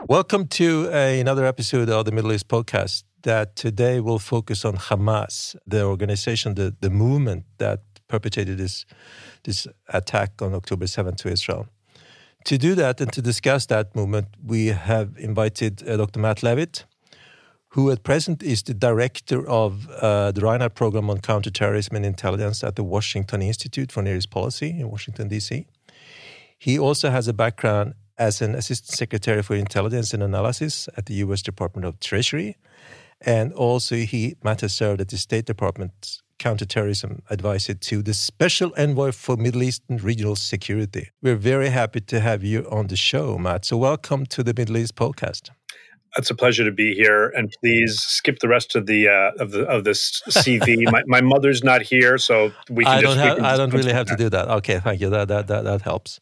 Welcome to another episode of the Middle East podcast that today will focus on Hamas, the organization, the movement that perpetrated this attack on October 7th to Israel. To do that and to discuss that movement, we have invited Dr. Matt Levitt, who at present is the director of the Reinhardt Program on Counterterrorism and Intelligence at the Washington Institute for Near East Policy in Washington, D.C. He also has a background as an Assistant Secretary for Intelligence and Analysis at the U.S. Department of Treasury. And also Matt has served at the State Department's Counterterrorism Advisor to the Special Envoy for Middle Eastern Regional Security. We're very happy to have you on the show, Matt. So welcome to the Middle East podcast. It's a pleasure to be here, and please skip the rest of the of this CV. My mother's not here, so we can. I don't really have to do that. Okay, thank you. That helps.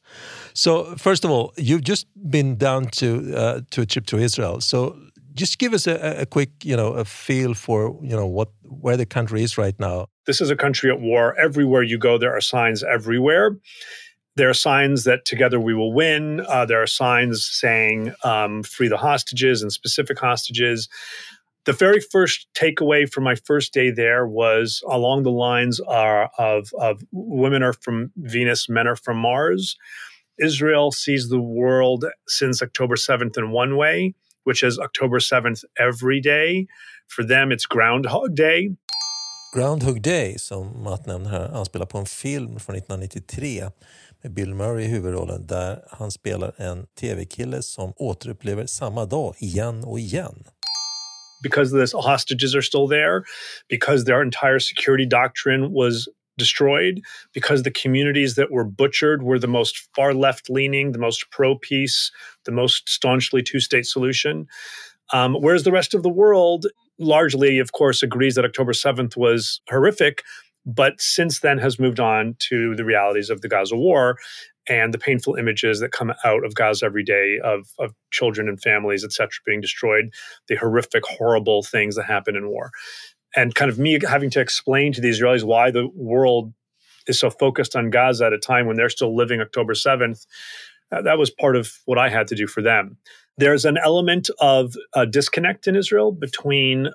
So first of all, you've just been down to a trip to Israel. So just give us a quick, a feel for where the country is right now. This is a country at war. Everywhere you go, there are signs everywhere. There are signs that together we will win. There are signs saying free the hostages and specific hostages. The very first takeaway from my first day there was along the lines of women are from Venus, men are from Mars. Israel sees the world since October 7th in one way, which is October 7th every day. For them, it's Groundhog Day. Groundhog Day, som Matt nämner här, anspelar på en film från 1993 med Bill Murray i huvudrollen där han spelar en tv-kille som återupplever samma dag igen och igen. Because the hostages are still there, because their entire security doctrine was destroyed, because the communities that were butchered were the most far left-leaning, the most pro-peace, the most staunchly two-state solution. Whereas the rest of the world largely, of course, agrees that October 7th was horrific, but since then has moved on to the realities of the Gaza war and the painful images that come out of Gaza every day of children and families, et cetera, being destroyed, the horrific, horrible things that happen in war. And kind of me having to explain to the Israelis why the world is so focused on Gaza at a time when they're still living October 7th, that was part of what I had to do for them. There's an element of a disconnect in Israel between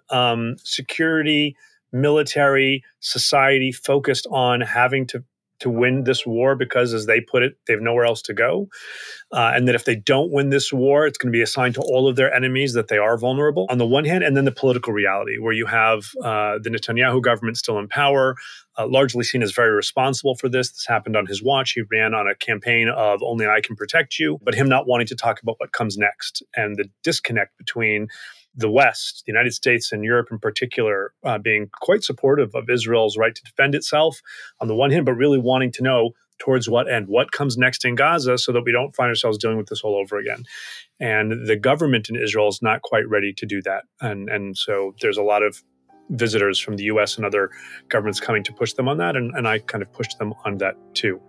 security, military, society focused on having to win this war because, as they put it, they have nowhere else to go. And that if they don't win this war, it's going to be a sign to all of their enemies that they are vulnerable on the one hand, and then the political reality where you have the Netanyahu government still in power, largely seen as very responsible for this. This happened on his watch. He ran on a campaign of only I can protect you, but him not wanting to talk about what comes next and the disconnect between the West, the United States and Europe in particular, being quite supportive of Israel's right to defend itself on the one hand, but really wanting to know towards what end, what comes next in Gaza so that we don't find ourselves dealing with this all over again. And the government in Israel is not quite ready to do that. And so there's a lot of visitors from the U.S. and other governments coming to push them on that. And I kind of pushed them on that too.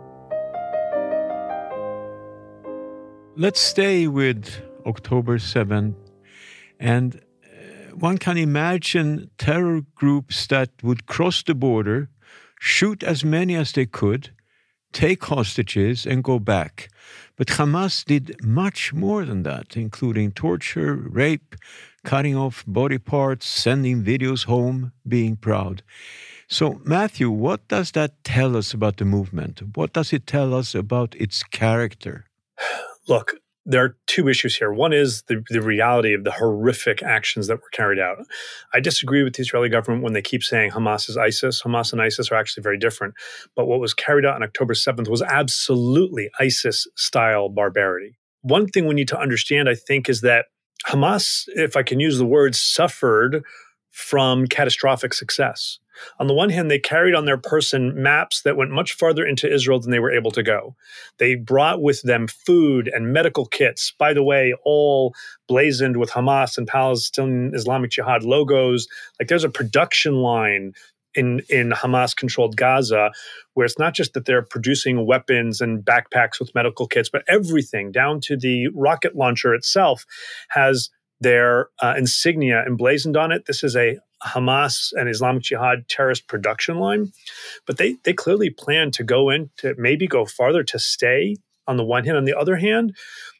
Let's stay with October 7th. And one can imagine terror groups that would cross the border, shoot as many as they could, take hostages and go back. But Hamas did much more than that, including torture, rape, cutting off body parts, sending videos home, being proud. So, Matthew, what does that tell us about the movement? What does it tell us about its character? Look, there are two issues here. One is the reality of the horrific actions that were carried out. I disagree with the Israeli government when they keep saying Hamas is ISIS. Hamas and ISIS are actually very different. But what was carried out on October 7th was absolutely ISIS-style barbarity. One thing we need to understand, I think, is that Hamas, if I can use the word, suffered from catastrophic success. On the one hand, they carried on their person maps that went much farther into Israel than they were able to go. They brought with them food and medical kits, by the way, all blazoned with Hamas and Palestinian Islamic Jihad logos. Like there's a production line in Hamas-controlled Gaza where it's not just that they're producing weapons and backpacks with medical kits, but everything down to the rocket launcher itself has their insignia emblazoned on it. This is a Hamas and Islamic Jihad terrorist production line. But they clearly plan to go in, to maybe go farther, to stay on the one hand. On the other hand,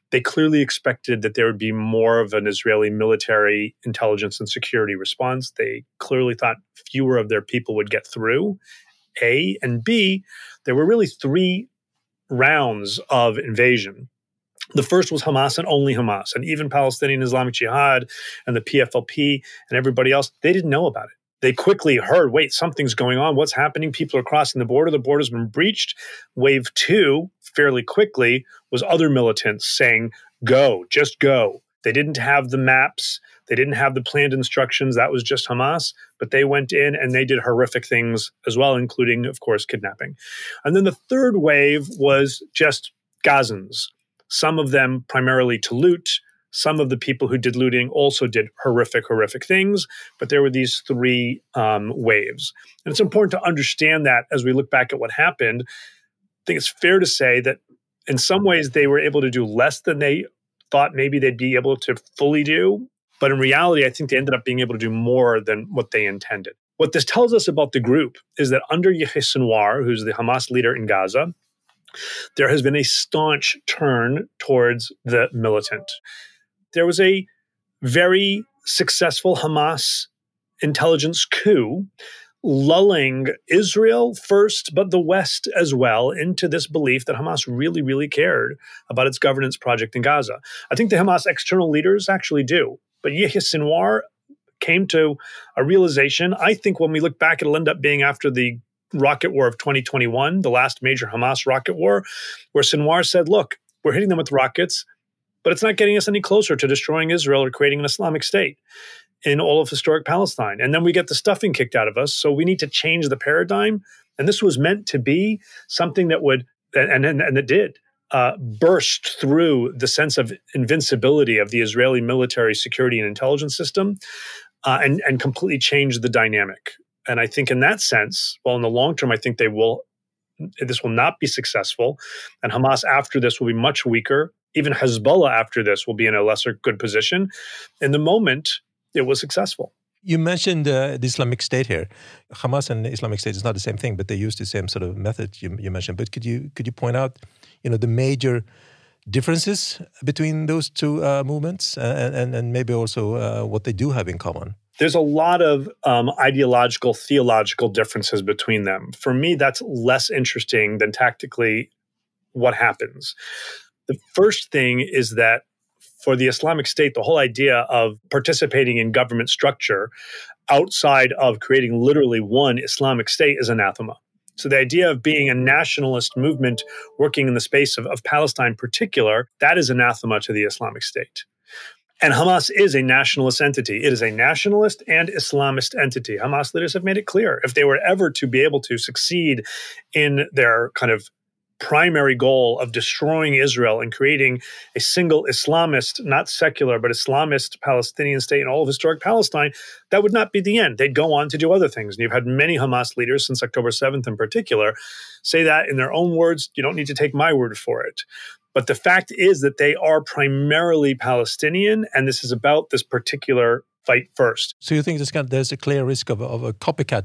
They clearly expected that there would be more of an Israeli military intelligence and security response. They clearly thought fewer of their people would get through, A. And B, there were really three rounds of invasion. The first was Hamas and only Hamas. And even Palestinian Islamic Jihad and the PFLP and everybody else, they didn't know about it. They quickly heard, wait, something's going on. What's happening? People are crossing the border. The border's been breached. Wave 2, fairly quickly, was other militants saying, go, just go. They didn't have the maps. They didn't have the planned instructions. That was just Hamas. But they went in and they did horrific things as well, including, of course, kidnapping. And then the third wave was just Gazans. Some of them primarily to loot. Some of the people who did looting also did horrific things, but there were these three waves. And it's important to understand that as we look back at what happened. I think it's fair to say that in some ways they were able to do less than they thought maybe they'd be able to fully do. But in reality, I think they ended up being able to do more than what they intended. What this tells us about the group is that under Yahya Sinwar, who's the Hamas leader in Gaza, there has been a staunch turn towards the militant. There was a very successful Hamas intelligence coup, lulling Israel first, but the West as well, into this belief that Hamas really cared about its governance project in Gaza. I think the Hamas external leaders actually do. But Yahya Sinwar came to a realization, I think when we look back, it'll end up being after the rocket war of 2021, the last major Hamas rocket war, where Sinwar said, look, we're hitting them with rockets, but it's not getting us any closer to destroying Israel or creating an Islamic state in all of historic Palestine. And then we get the stuffing kicked out of us. So we need to change the paradigm. And this was meant to be something that would, and it did, burst through the sense of invincibility of the Israeli military security and intelligence system and completely change the dynamic. And I think in that sense, well, in the long term, I think this will not be successful. And Hamas after this will be much weaker. Even Hezbollah after this will be in a lesser good position. In the moment, it was successful. You mentioned the Islamic State here. Hamas and the Islamic State is not the same thing, but they use the same sort of method you mentioned. But could you point out, the major differences between those two movements and maybe also what they do have in common? There's a lot of ideological, theological differences between them. For me, that's less interesting than tactically what happens. The first thing is that for the Islamic State, the whole idea of participating in government structure outside of creating literally one Islamic state is anathema. So the idea of being a nationalist movement working in the space of Palestine in particular, that is anathema to the Islamic State. And Hamas is a nationalist entity. It is a nationalist and Islamist entity. Hamas leaders have made it clear. If they were ever to be able to succeed in their kind of primary goal of destroying Israel and creating a single Islamist, not secular, but Islamist Palestinian state in all of historic Palestine, that would not be the end. They'd go on to do other things. And you've had many Hamas leaders since October 7th in particular say that in their own words. You don't need to take my word for it. But the fact is that they are primarily Palestinian, and this is about this particular fight first. So you think there's a clear risk of a copycat,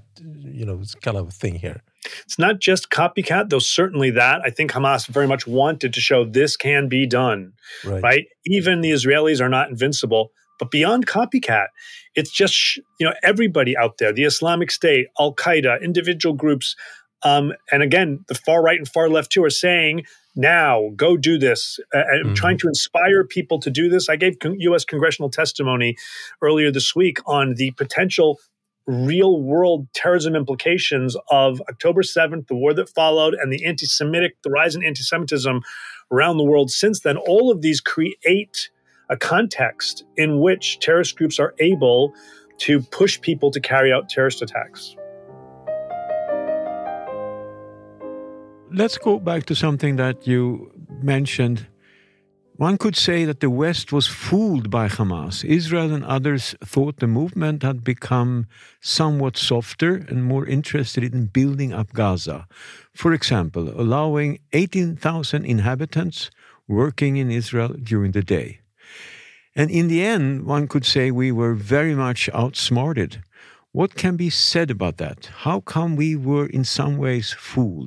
kind of thing here? It's not just copycat, though certainly that. I think Hamas very much wanted to show this can be done, right? Even the Israelis are not invincible. But beyond copycat, it's just, everybody out there, the Islamic State, Al-Qaeda, individual groups, and again, the far right and far left too are saying, now, go do this. I'm trying to inspire people to do this. I gave U.S. congressional testimony earlier this week on the potential real-world terrorism implications of October 7th, the war that followed, and the rise in anti-Semitism around the world since then. All of these create a context in which terrorist groups are able to push people to carry out terrorist attacks. Let's go back to something that you mentioned. One could say that the West was fooled by Hamas. Israel and others thought the movement had become somewhat softer and more interested in building up Gaza. For example, allowing 18,000 inhabitants working in Israel during the day. And in the end, one could say we were very much outsmarted. What can be said about that? How come we were in some ways fooled?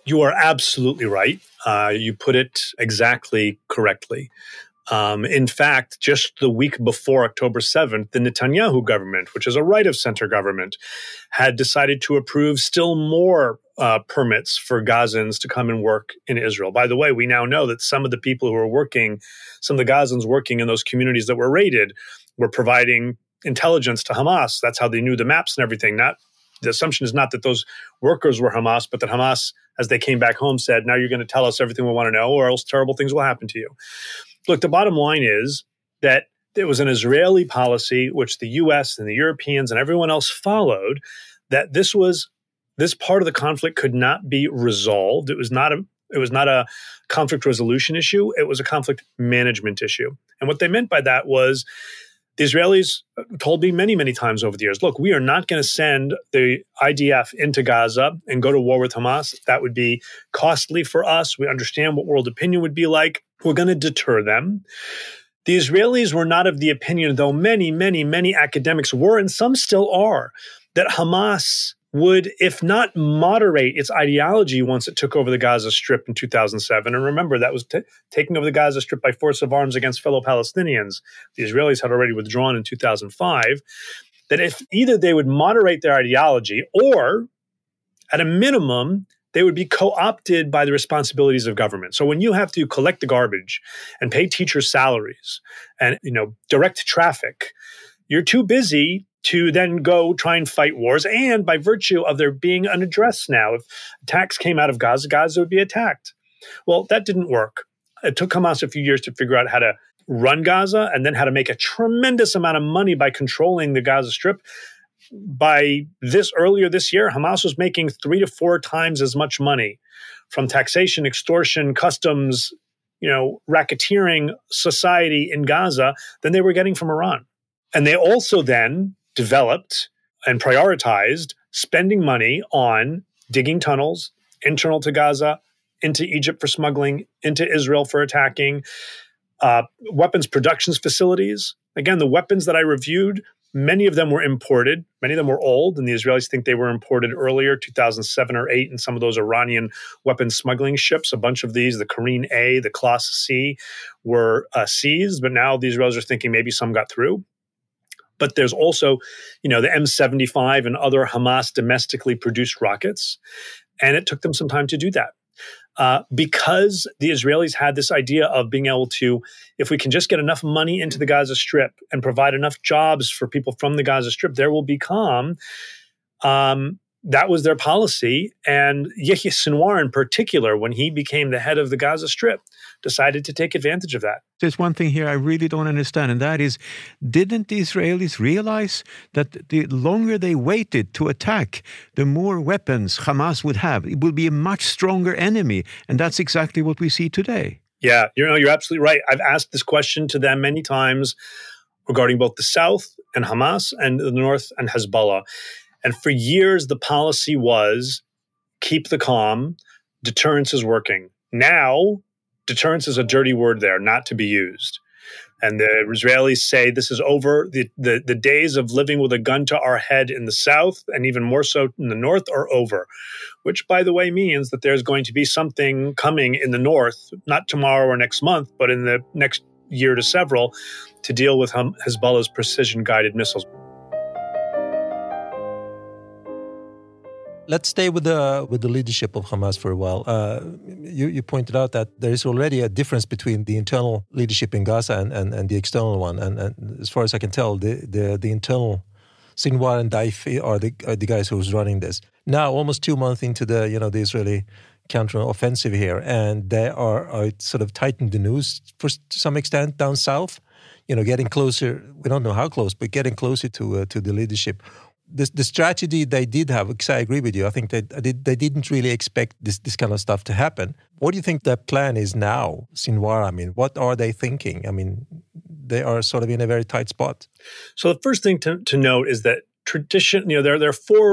You are absolutely right. You put it exactly correctly. In fact, just the week before October 7th, the Netanyahu government, which is a right-of-center government, had decided to approve still more permits for Gazans to come and work in Israel. By the way, we now know that some of the people who were working, some of the Gazans working in those communities that were raided, were providing intelligence to Hamas. That's how they knew the maps and everything. The assumption is not that those workers were Hamas, but that Hamas, as they came back home, said, now you're going to tell us everything we want to know, or else terrible things will happen to you. Look, the bottom line is that it was an Israeli policy, which the U.S. and the Europeans and everyone else followed, that this part of the conflict could not be resolved. It was not a conflict resolution issue. It was a conflict management issue. And what they meant by that was the Israelis told me many, many times over the years, look, we are not going to send the IDF into Gaza and go to war with Hamas. That would be costly for us. We understand what world opinion would be like. We're going to deter them. The Israelis were not of the opinion, though many, many, many academics were, and some still are, that Hamas would, if not moderate its ideology once it took over the Gaza Strip in 2007. And remember, that was taking over the Gaza Strip by force of arms against fellow Palestinians. The Israelis had already withdrawn in 2005. That if either they would moderate their ideology or, at a minimum, they would be co-opted by the responsibilities of government. So when you have to collect the garbage and pay teachers' salaries and direct traffic, you're too busy to then go try and fight wars. And by virtue of there being an address now, if attacks came out of Gaza, Gaza would be attacked. Well, that didn't work. It took Hamas a few years to figure out how to run Gaza and then how to make a tremendous amount of money by controlling the Gaza Strip. By earlier this year, Hamas was making 3 to 4 times as much money from taxation, extortion, customs, racketeering society in Gaza than they were getting from Iran. And they also then developed and prioritized spending money on digging tunnels internal to Gaza, into Egypt for smuggling, into Israel for attacking, weapons production facilities. Again, the weapons that I reviewed, many of them were imported. Many of them were old, and the Israelis think they were imported earlier, 2007 or 8, in some of those Iranian weapons smuggling ships. A bunch of these, the Karine A, the Class C, were seized, but now the Israelis are thinking maybe some got through. But there's also, the M75 and other Hamas domestically produced rockets. And it took them some time to do that. Because the Israelis had this idea of being able to, if we can just get enough money into the Gaza Strip and provide enough jobs for people from the Gaza Strip, there will be calm. That was their policy. And Yehia Sinwar in particular, when he became the head of the Gaza Strip, decided to take advantage of that. There's one thing here I really don't understand, and that is, didn't the Israelis realize that the longer they waited to attack, the more weapons Hamas would have? It will be a much stronger enemy, and that's exactly what we see today. Yeah, you're absolutely right. I've asked this question to them many times regarding both the South and Hamas and the North and Hezbollah. And for years, the policy was keep the calm, deterrence is working. Now, deterrence is a dirty word there, not to be used. And the Israelis say this is over. The days of living with a gun to our head in the South, and even more so in the North, are over. Which, by the way, means that there's going to be something coming in the North, not tomorrow or next month, but in the next year to several, to deal with Hezbollah's precision-guided missiles. Let's stay with the leadership of Hamas for a while. You pointed out that there is already a difference between the internal leadership in Gaza and the external one. And as far as I can tell, the internal Sinwar and Daifi are the guys who's running this. Now, almost 2 months into the Israeli counter-offensive here, and they are sort of tightening the noose to some extent down south. Getting closer. We don't know how close, but getting closer to the leadership. The strategy they did have, because I agree with you, I think they didn't really expect this kind of stuff to happen. What do you think their plan is now, Sinwar? I mean, what are they thinking? I mean, they are sort of in a very tight spot. So the first thing to note is that there are 4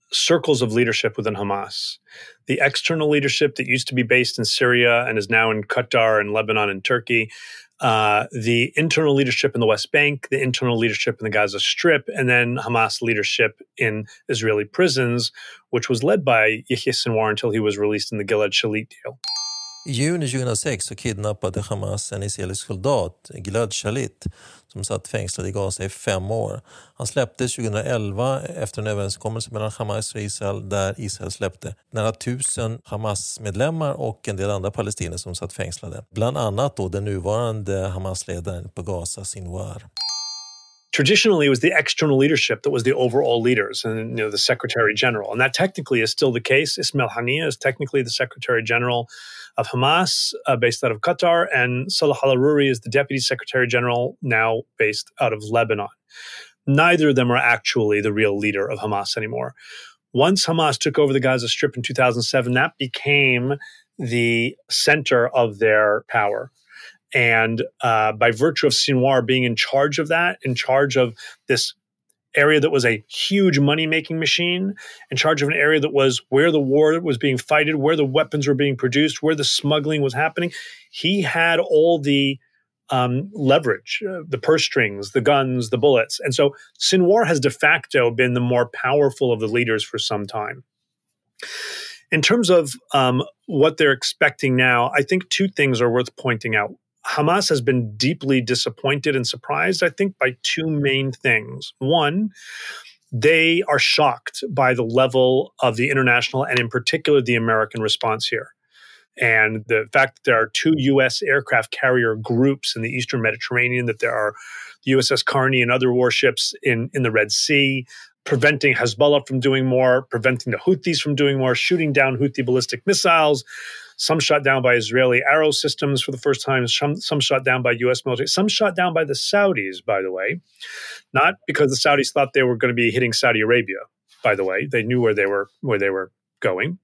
circles of leadership within Hamas. The external leadership that used to be based in Syria and is now in Qatar and Lebanon and Turkey, the internal leadership in the West Bank, the internal leadership in the Gaza Strip, and then Hamas leadership in Israeli prisons, which was led by Yahya Sinwar until he was released in the Gilad Shalit deal. I juni 2006 så kidnappade Hamas en israelisk soldat, Gilad Shalit, som satt fängslad i Gaza i 5 år. Han släpptes 2011 efter en överenskommelse mellan Hamas och Israel där Israel släppte nära 1000 Hamas-medlemmar och en del andra palestinier som satt fängslade. Bland annat då den nuvarande Hamas-ledaren på Gaza, Sinwar. Traditionally, it was the external leadership that was the overall leaders and the Secretary General. And that technically is still the case. Ismail Haniyeh is technically the Secretary General of Hamas, based out of Qatar, and Salah al-Aruri is the Deputy Secretary General, now based out of Lebanon. Neither of them are actually the real leader of Hamas anymore. Once Hamas took over the Gaza Strip in 2007, that became the center of their power. And by virtue of Sinwar being in charge of that, in charge of this area that was a huge money-making machine, in charge of an area that was where the war was being fighted, where the weapons were being produced, where the smuggling was happening, he had all the leverage, the purse strings, the guns, the bullets. And so Sinwar has de facto been the more powerful of the leaders for some time. In terms of what they're expecting now, I think 2 things are worth pointing out. Hamas has been deeply disappointed and surprised, I think, by 2 main things. One, they are shocked by the level of the international and in particular the American response here. And the fact that there are 2 U.S. aircraft carrier groups in the Eastern Mediterranean, that there are the USS Carney and other warships in the Red Sea, preventing Hezbollah from doing more, preventing the Houthis from doing more, shooting down Houthi ballistic missiles, some shot down by Israeli Arrow systems for the first time, some shot down by U.S. military, some shot down by the Saudis, by the way, not because the Saudis thought they were going to be hitting Saudi Arabia, by the way. They knew where they were going.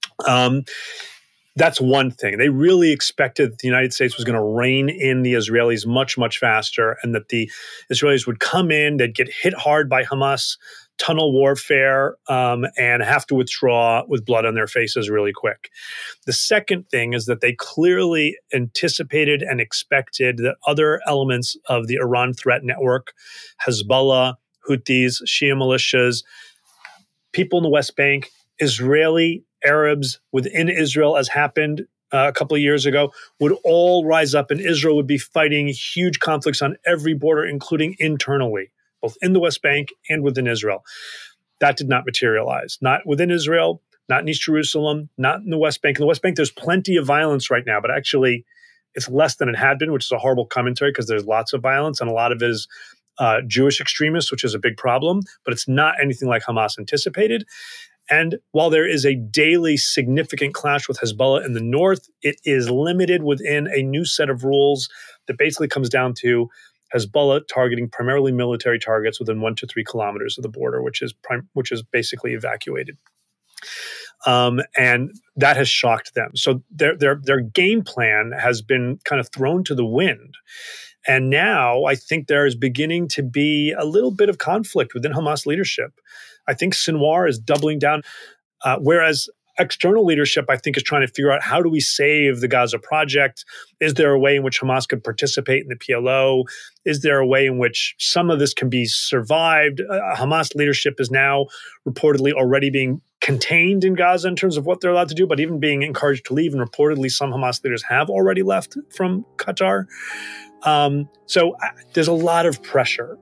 That's one thing. They really expected that the United States was going to rein in the Israelis much, much faster, and that the Israelis would come in, they'd get hit hard by Hamas tunnel warfare, and have to withdraw with blood on their faces really quick. The second thing is that they clearly anticipated and expected that other elements of the Iran threat network, Hezbollah, Houthis, Shia militias, people in the West Bank, Israeli Arabs within Israel, as happened a couple of years ago, would all rise up, and Israel would be fighting huge conflicts on every border, including internally, both in the West Bank and within Israel. That did not materialize. Not within Israel, not in East Jerusalem, not in the West Bank. In the West Bank, there's plenty of violence right now, but actually it's less than it had been, which is a horrible commentary because there's lots of violence, and a lot of it is Jewish extremists, which is a big problem, but it's not anything like Hamas anticipated. And while there is a daily significant clash with Hezbollah in the north, it is limited within a new set of rules that basically comes down to Hezbollah targeting primarily military targets within 1 to 3 kilometers of the border, which is basically evacuated. And that has shocked them. So their game plan has been kind of thrown to the wind. And now I think there is beginning to be a little bit of conflict within Hamas leadership. I think Sinwar is doubling down, whereas external leadership, I think, is trying to figure out how do we save the Gaza project? Is there a way in which Hamas could participate in the PLO? Is there a way in which some of this can be survived? Hamas leadership is now reportedly already being contained in Gaza in terms of what they're allowed to do, but even being encouraged to leave. And reportedly, some Hamas leaders have already left from Qatar. So there's a lot of pressure.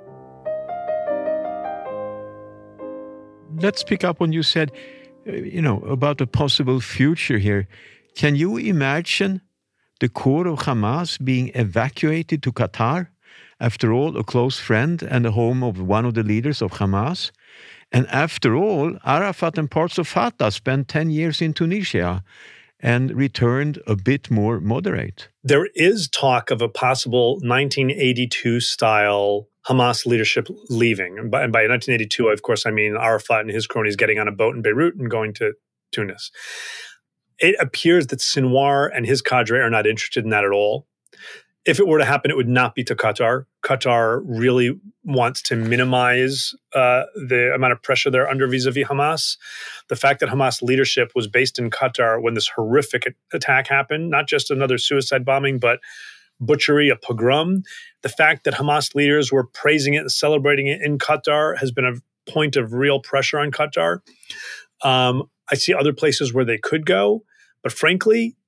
Let's pick up on you said, about a possible future here. Can you imagine the core of Hamas being evacuated to Qatar? After all, a close friend and the home of one of the leaders of Hamas. And after all, Arafat and parts of Fatah spent 10 years in Tunisia and returned a bit more moderate. There is talk of a possible 1982-style Hamas leadership leaving. And by 1982, of course, I mean Arafat and his cronies getting on a boat in Beirut and going to Tunis. It appears that Sinwar and his cadre are not interested in that at all. If it were to happen, it would not be to Qatar. Qatar really wants to minimize the amount of pressure they're under vis-a-vis Hamas. The fact that Hamas leadership was based in Qatar when this horrific attack happened, not just another suicide bombing, but butchery, a pogrom. The fact that Hamas leaders were praising it and celebrating it in Qatar has been a point of real pressure on Qatar. I see other places where they could go, but frankly,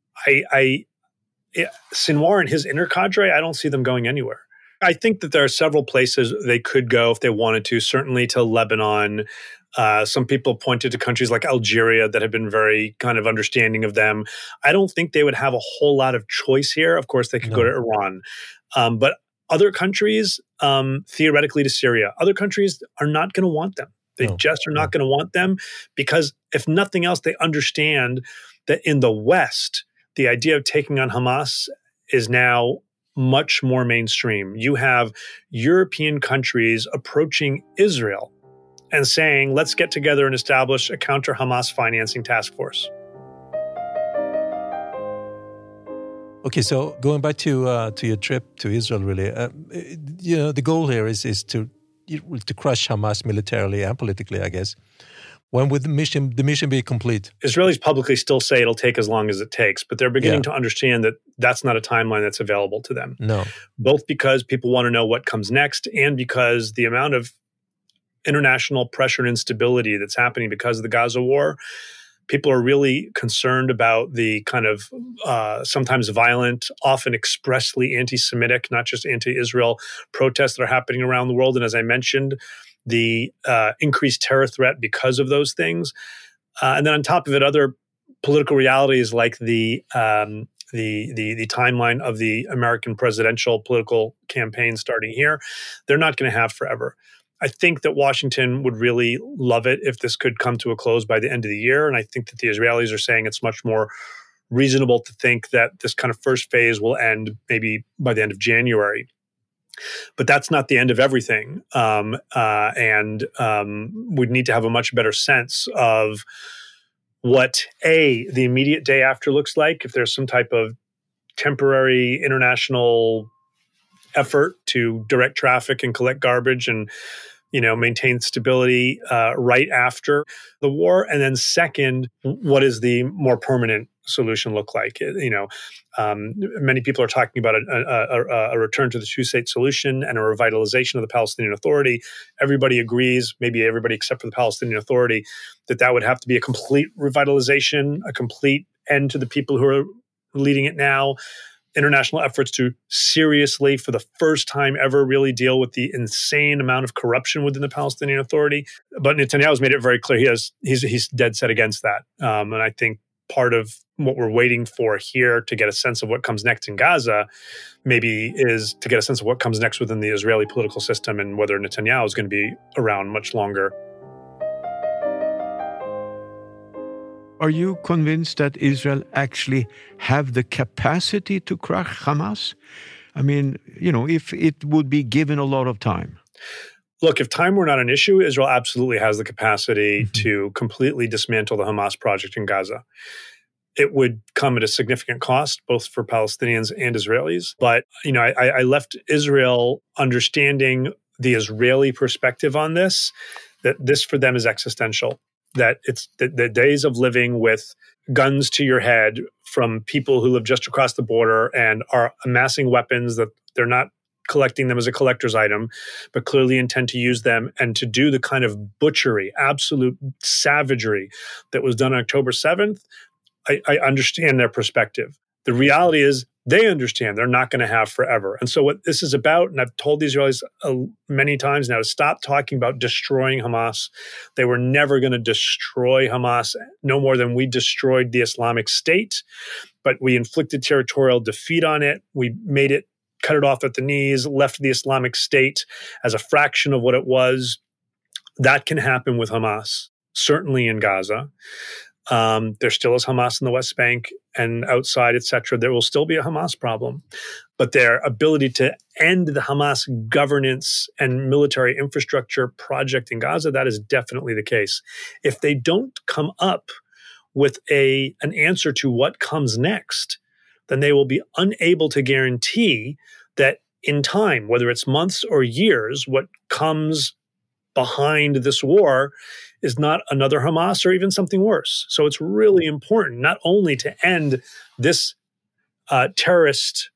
Sinwar and his inner cadre, I don't see them going anywhere. I think that there are several places they could go if they wanted to, certainly to Lebanon. Some people pointed to countries like Algeria that have been very kind of understanding of them. I don't think they would have a whole lot of choice here. Of course, they could go to Iran. But other countries, theoretically to Syria, other countries are not going to want them. They just are not going to want them because if nothing else, they understand that in the West, the idea of taking on Hamas is now much more mainstream. You have European countries approaching Israel and saying, let's get together and establish a counter-Hamas financing task force. Okay, so going back to your trip to Israel, really, the goal here is to crush Hamas militarily and politically, I guess. When would the mission be complete? Israelis publicly still say it'll take as long as it takes, but they're beginning to understand that that's not a timeline that's available to them. No. Both because people want to know what comes next and because the amount of international pressure and instability that's happening because of the Gaza war, people are really concerned about the kind of sometimes violent, often expressly anti-Semitic, not just anti-Israel protests that are happening around the world. And as I mentioned, the increased terror threat because of those things. And then on top of it, other political realities like the timeline of the American presidential political campaign starting here, they're not going to have forever. I think that Washington would really love it if this could come to a close by the end of the year. And I think that the Israelis are saying it's much more reasonable to think that this kind of first phase will end maybe by the end of January. But that's not the end of everything. And we'd need to have a much better sense of what, the immediate day after looks like, if there's some type of temporary international effort to direct traffic and collect garbage and maintain stability right after the war. And then second, what is the more permanent solution look like? Many people are talking about a return to the two-state solution and a revitalization of the Palestinian Authority. Everybody agrees, maybe everybody except for the Palestinian Authority, that would have to be a complete revitalization, a complete end to the people who are leading it now. International efforts to seriously, for the first time ever, really deal with the insane amount of corruption within the Palestinian Authority. But Netanyahu's made it very clear he's dead set against that. And I think part of what we're waiting for here to get a sense of what comes next in Gaza maybe is to get a sense of what comes next within the Israeli political system and whether Netanyahu is going to be around much longer. Are you convinced that Israel actually have the capacity to crush Hamas? I mean, if it would be given a lot of time. Look, if time were not an issue, Israel absolutely has the capacity to completely dismantle the Hamas project in Gaza. It would come at a significant cost, both for Palestinians and Israelis. But, I left Israel understanding the Israeli perspective on this, that this for them is existential. That it's the days of living with guns to your head from people who live just across the border and are amassing weapons that they're not collecting them as a collector's item, but clearly intend to use them and to do the kind of butchery, absolute savagery that was done on October 7th. I understand their perspective. The reality is they understand they're not going to have forever. And so what this is about, and I've told the Israelis many times now, to stop talking about destroying Hamas. They were never going to destroy Hamas, no more than we destroyed the Islamic State. But we inflicted territorial defeat on it. We made it, cut it off at the knees, left the Islamic State as a fraction of what it was. That can happen with Hamas, certainly in Gaza. There still is Hamas in the West Bank and outside, etc. There will still be a Hamas problem. But their ability to end the Hamas governance and military infrastructure project in Gaza, that is definitely the case. If they don't come up with an answer to what comes next, then they will be unable to guarantee that in time, whether it's months or years, what comes behind this war is not another Hamas or even something worse. So it's really important not only to end this terrorist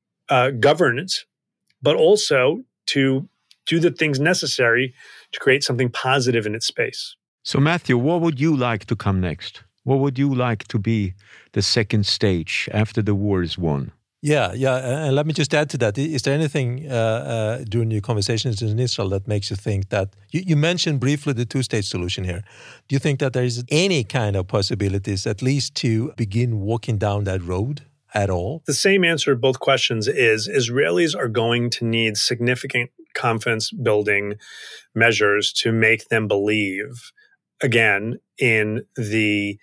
governance, but also to do the things necessary to create something positive in its space. So, Matthew, what would you like to come next? What would you like to be the second stage after the war is won? Yeah. And let me just add to that. Is there anything during your conversations in Israel that makes you think that, you mentioned briefly the two-state solution here. Do you think that there is any kind of possibilities, at least to begin walking down that road at all? The same answer to both questions is Israelis are going to need significant confidence-building measures to make them believe, again, in the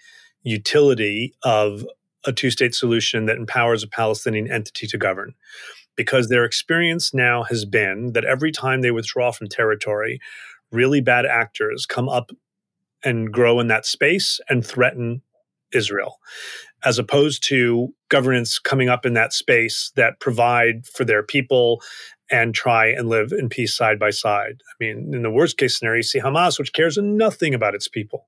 utility of a two-state solution that empowers a Palestinian entity to govern. Because their experience now has been that every time they withdraw from territory, really bad actors come up and grow in that space and threaten Israel, as opposed to governance coming up in that space that provide for their people and try and live in peace side by side. I mean, in the worst case scenario, you see Hamas, which cares nothing about its people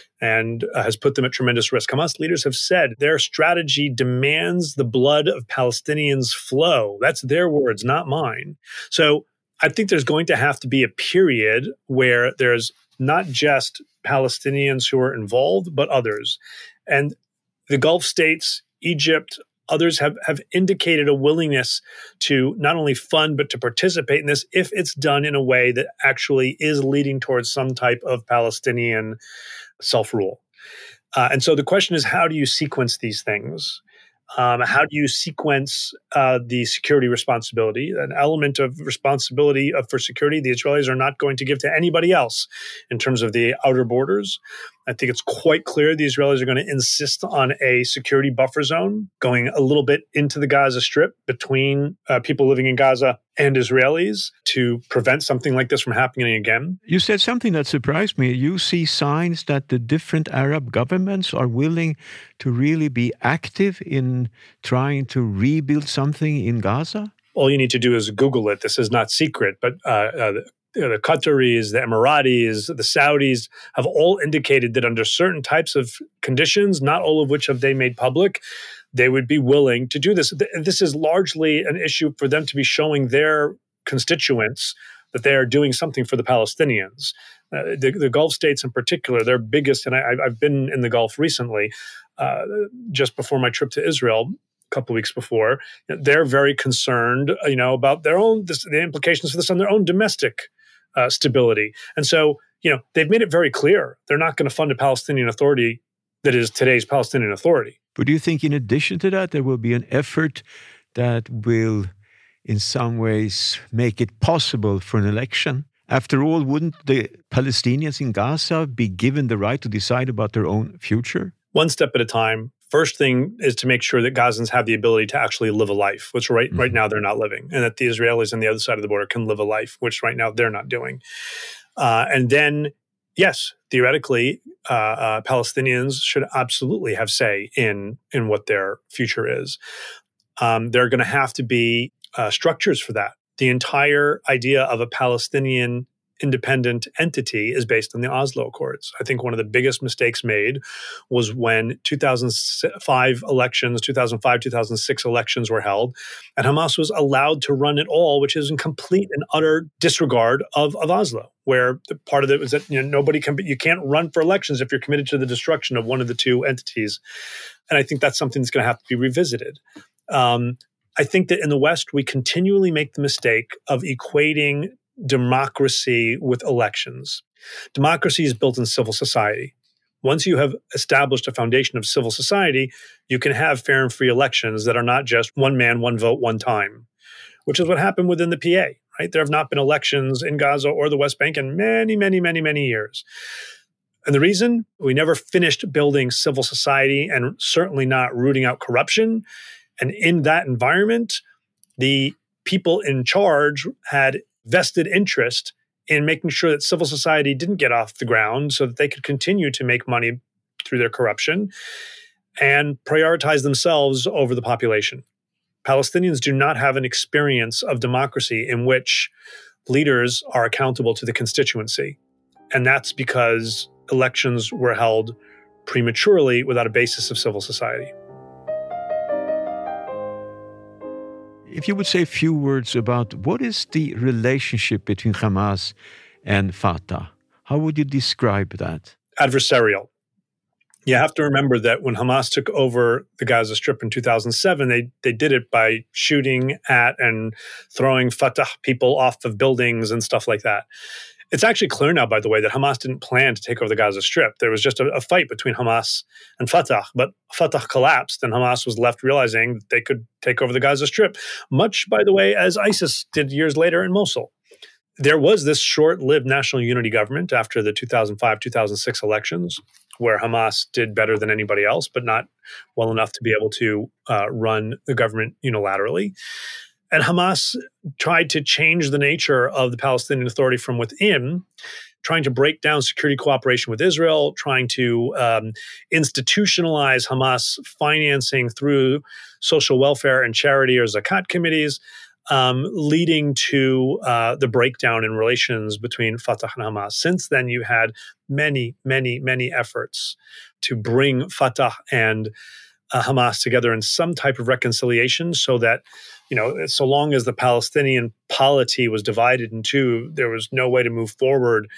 and has put them at tremendous risk. Hamas leaders have said their strategy demands the blood of Palestinians flow. That's their words, not mine. So I think there's going to have to be a period where there's not just Palestinians who are involved, but others. And the Gulf states, Egypt, others have indicated a willingness to not only fund, but to participate in this if it's done in a way that actually is leading towards some type of Palestinian self-rule. And so the question is, how do you sequence these things? How do you sequence the security responsibility? An element of responsibility for security the Israelis are not going to give to anybody else in terms of the outer borders. I think it's quite clear the Israelis are going to insist on a security buffer zone going a little bit into the Gaza Strip between people living in Gaza and Israelis to prevent something like this from happening again. You said something that surprised me. You see signs that the different Arab governments are willing to really be active in trying to rebuild something in Gaza? All you need to do is Google it. This is not secret, but the Qataris, the Emiratis, the Saudis have all indicated that under certain types of conditions, not all of which have they made public, they would be willing to do this. This is largely an issue for them to be showing their constituents that they are doing something for the Palestinians. The Gulf states in particular, their biggest, and I've been in the Gulf recently, just before my trip to Israel, a couple of weeks before, they're very concerned, about their own, the implications of this on their own domestic stability. And so, they've made it very clear they're not going to fund a Palestinian Authority that is today's Palestinian Authority. But do you think in addition to that, there will be an effort that will in some ways make it possible for an election? After all, wouldn't the Palestinians in Gaza be given the right to decide about their own future? One step at a time. First thing is to make sure that Gazans have the ability to actually live a life, which right now they're not living, and that the Israelis on the other side of the border can live a life, which right now they're not doing. And then, yes, theoretically, Palestinians should absolutely have say in what their future is. There are going to have to be structures for that. The entire idea of a Palestinian independent entity is based on the Oslo Accords. I think one of the biggest mistakes made was when 2005, 2006 elections were held, and Hamas was allowed to run it all, which is in complete and utter disregard of Oslo, where the part of it was that you can't run for elections if you're committed to the destruction of one of the two entities. And I think that's something that's going to have to be revisited. I think that in the West, we continually make the mistake of equating democracy with elections. Democracy is built in civil society. Once you have established a foundation of civil society, you can have fair and free elections that are not just one man, one vote, one time, which is what happened within the PA, right? There have not been elections in Gaza or the West Bank in many, many, many, many years. And the reason? We never finished building civil society and certainly not rooting out corruption. And in that environment, the people in charge had vested interest in making sure that civil society didn't get off the ground so that they could continue to make money through their corruption. and prioritize themselves over the population. Palestinians do not have an experience of democracy in which leaders are accountable to the constituency. And that's because elections were held prematurely without a basis of civil society. If you would say a few words about what is the relationship between Hamas and Fatah, how would you describe that? Adversarial. You have to remember that when Hamas took over the Gaza Strip in 2007, they did it by shooting at and throwing Fatah people off of buildings and stuff like that. It's actually clear now, by the way, that Hamas didn't plan to take over the Gaza Strip. There was just a fight between Hamas and Fatah, but Fatah collapsed and Hamas was left realizing that they could take over the Gaza Strip, much, by the way, as ISIS did years later in Mosul. There was this short-lived national unity government after the 2005-2006 elections, where Hamas did better than anybody else, but not well enough to be able to run the government unilaterally. And Hamas tried to change the nature of the Palestinian Authority from within, trying to break down security cooperation with Israel, trying to institutionalize Hamas financing through social welfare and charity or zakat committees, leading to the breakdown in relations between Fatah and Hamas. Since then, you had many, many, many efforts to bring Fatah and Hamas together in some type of reconciliation so that, so long as the Palestinian polity was divided in two, there was no way to move forward.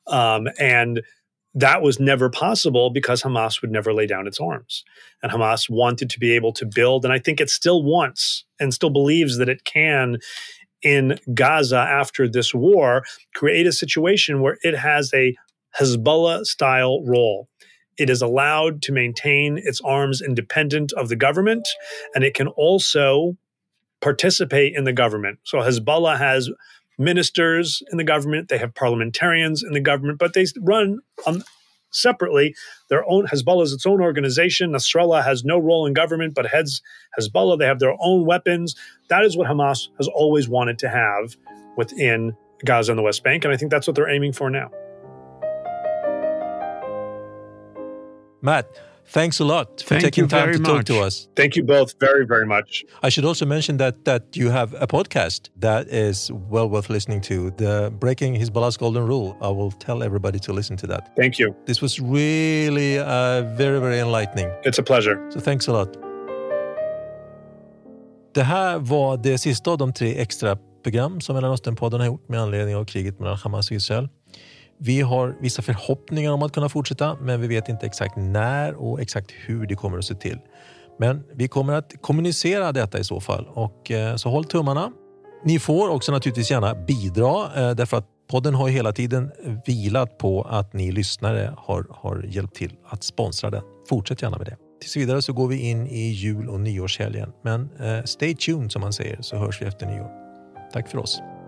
And that was never possible because Hamas would never lay down its arms. And Hamas wanted to be able to build, and I think it still wants and still believes that it can, in Gaza after this war, create a situation where it has a Hezbollah-style role. It is allowed to maintain its arms independent of the government, and it can also participate in the government. So Hezbollah has ministers in the government, they have parliamentarians in the government, but they run separately. Hezbollah is its own organization. Nasrallah has no role in government, but heads Hezbollah. They have their own weapons. That is what Hamas has always wanted to have within Gaza and the West Bank, and I think that's what they're aiming for now. Matt, thanks a lot for taking time to talk to us. Thank you both very, very much. I should also mention that you have a podcast that is well worth listening to, the Breaking Hezbollah's Golden Rule. I will tell everybody to listen to that. Thank you. This was really very, very enlightening. It's a pleasure. So thanks a lot. Det här var det sista av de 3 extra program som Mellanösternpodden har gjort med anledning av kriget mellan Hamas och Israel. Vi har vissa förhoppningar om att kunna fortsätta, men vi vet inte exakt när och exakt hur det kommer att se till. Men vi kommer att kommunicera detta i så fall, och så håll tummarna. Ni får också naturligtvis gärna bidra, därför att podden har hela tiden vilat på att ni lyssnare har hjälpt till att sponsra den. Fortsätt gärna med det. Tills vidare så går vi in i jul- och nyårshelgen, men stay tuned som man säger, så hörs vi efter nyår. Tack för oss.